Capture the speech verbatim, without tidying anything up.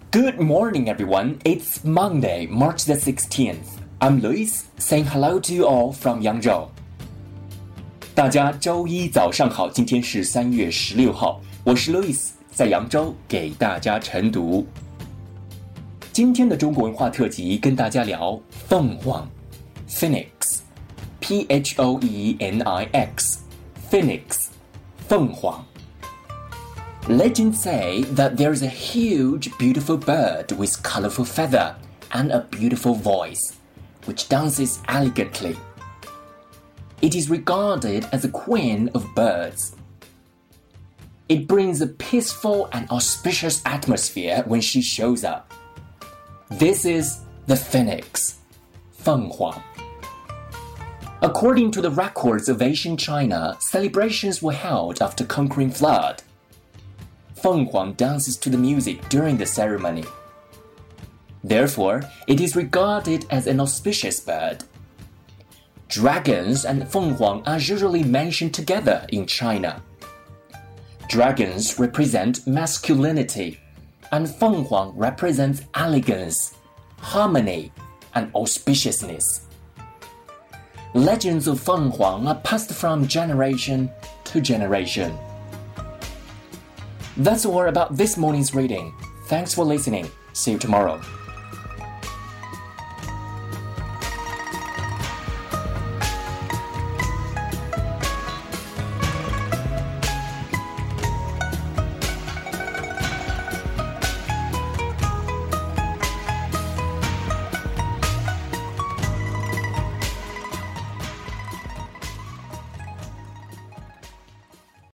Good morning, everyone. It's Monday, March the sixteenth. I'm Luis, saying hello to you all from Yangzhou. 大家周一早上好，今天是三月十六号，我是 Luis， 在扬州给大家晨读。今天的中国文化特辑跟大家聊凤凰 Phoenix P H O E N I X Phoenix 凤凰。Legends say that there is a huge, beautiful bird with colorful feather and a beautiful voice, which dances elegantly. It is regarded as the queen of birds. It brings a peaceful and auspicious atmosphere when she shows up. This is the phoenix, 凤凰. According to the records of ancient China, celebrations were held after conquering flood. 凤凰 dances to the music during the ceremony. Therefore, it is regarded as an auspicious bird. Dragons and 凤凰 are usually mentioned together in China. Dragons represent masculinity, and 凤凰 represents elegance, harmony, and auspiciousness. Legends of 凤凰 are passed from generation to generation. That's all about this morning's reading. Thanks for listening. See you tomorrow.